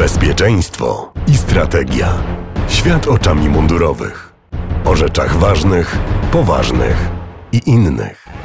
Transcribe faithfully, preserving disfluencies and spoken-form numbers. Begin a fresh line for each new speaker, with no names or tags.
Bezpieczeństwo i strategia. Świat oczami mundurowych. O rzeczach ważnych, poważnych i innych.